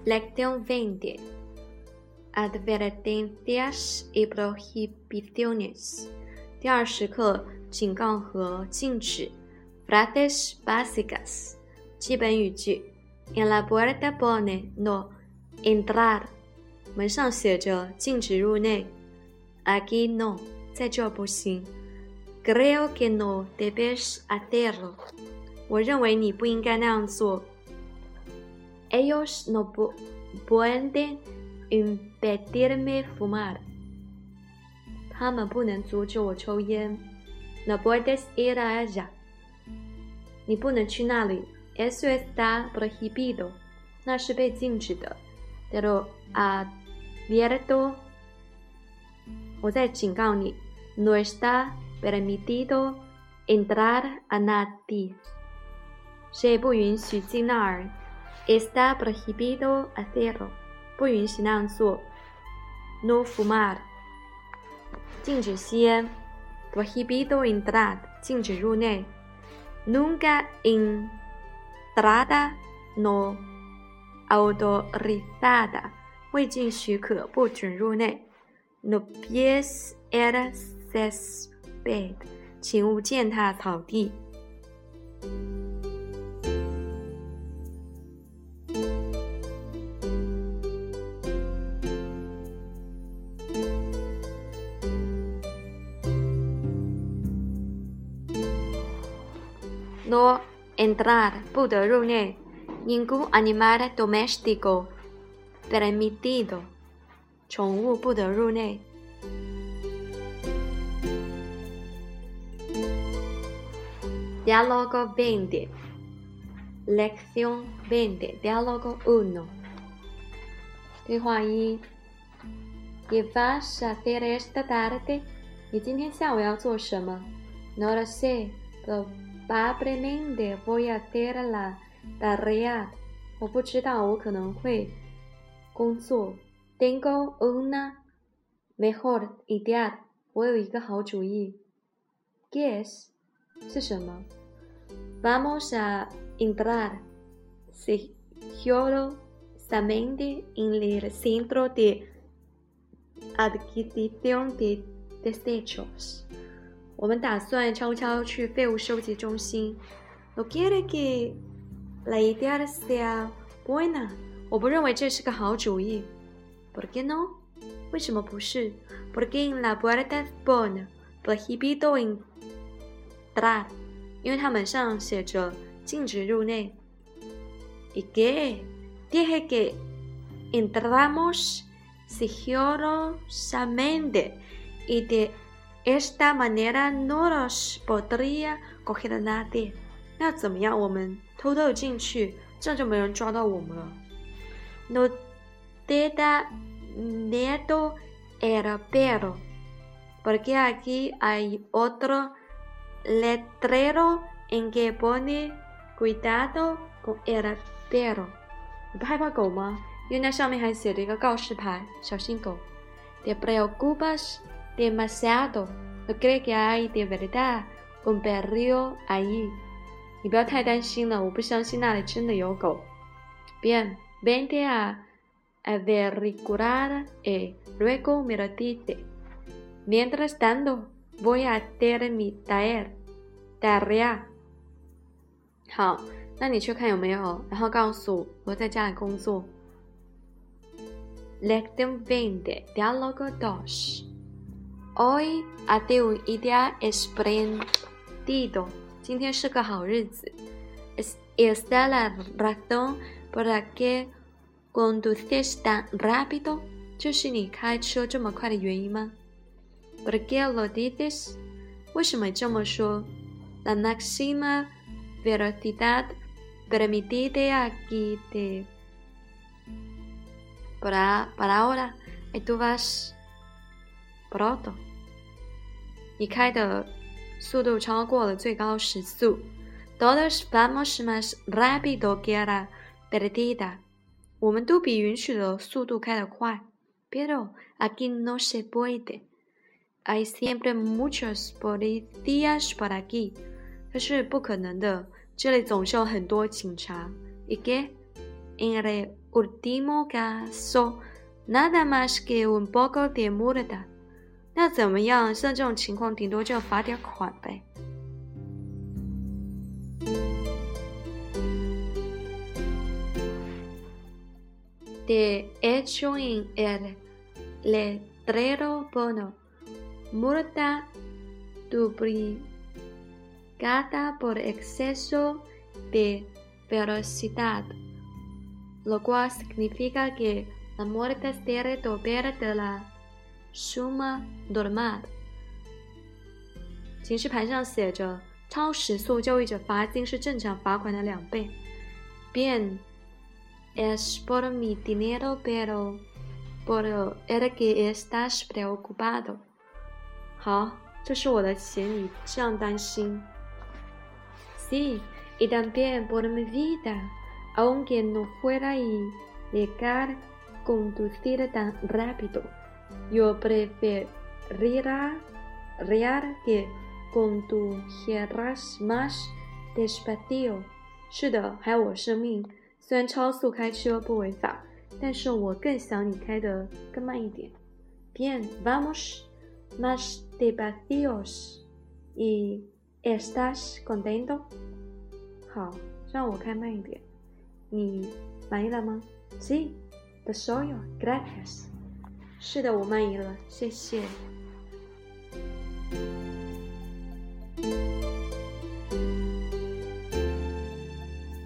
Lección 20. Advertencias y prohibiciones. 第20课警告和禁止 Frases básicas 基本语句 En la puerta pone no entrar 门上写着禁止入内 Aquí no 在这不行 Creo que no debes hacerlo 我认为你不应该那样做 Ellos no pueden impedirme fumar 他们不能阻止我抽烟 No puedes ir allá 你不能去那里 Eso está prohibido 那是被禁止的 Pero advierto 我在警告你 No está permitido entrar a nadie 谁不允许进那儿 Está prohibido hacerlo 不允许那样做 No fumar 禁止吸烟 Prohibido entrar 禁止入内 Nunca entrada no autorizada 未经许可不准入内 No pies el césped 请勿践踏草地No entrar 不得入内 Ningún animal doméstico permitido 宠物不得入内 Diálogo 20 Lección 20 Diálogo 1对话1 ¿Qué vas a hacer esta tarde? 你今天下午要做什么 No lo sé Probablemente voy a hacer la tarea 我不知道我可能会工作 Tengo una mejor idea 我有一个好主意 ¿Qué es? 是什么 Vamos a entrar sigilosamente en el centro de adquisición de desechos我们打算悄悄去废物收集中心 No quiere que la idea sea buena 我不认为这是个好主意 ¿Por qué no? 为什么不是 Porque en la puerta pone prohibido entrar 因为它门上写着禁止入内 ¿Y qué? Dije que entramos sigilosamente y de esta manera no los podría coger nadie 那怎么样我们偷偷进去这样就没人抓到我们了 No te da miedo el perro porque aquí hay otro letrero en que pone cuidado con el perro 你不害怕狗吗因为那上面还写着一个告示牌小心狗 Te preocupas demasiado no creo que hay de verdad un perro allí 你不要太担心了我不相信那里真的有狗 Bien, vente a averiguar y luego me lo dice Mientras tanto voy a hacer mi tarea 好那你去看有没有然后告诉我在家里工作 Lección 20 Diálogo 2 Hoy hace un día espléndido 今天是个好日子 Esta la razón por la que conduces tan rápido 这是你开车这么快的原因吗 ¿Por qué lo dices? 为什么这么说 La máxima velocidad permitida aquí de por ahora y tú vas pronto 你开的速度超过了最高时速 Todos vamos más rápido que la perdida 我们都比允许的速度开得快 Pero aquí no se puede Hay siempre muchos policías por aquí 这是不可能的这里总是有很多警察 ¿Y qué? en el último caso, nada más que un poco de multa. 那怎么样？像这种情况，顶多就要罚点款呗。De hecho, en el letrero pone multa duplicada por exceso de velocidad, lo cual significa que la multa será doble de la suma normal。 警示牌上写着，超时速交易者罚金是正常罚款的2倍。Bien, es por mi dinero, pero por el que estás preocupado。 好，这是我的钱，你这样担心。Sí, y también por mi vida, aunque no fuera ilegal conducir tan rápido, yo preferiría que condujeras más despacio。 是的，还有我生命。虽然超速开车不违法，但是我更想你开得更慢一点。Bien, vamos más despacios y estás contento？ 好，让我开慢一点。你满意了吗？ Sí, de suyo, gracias。 是的，我满意了，谢谢。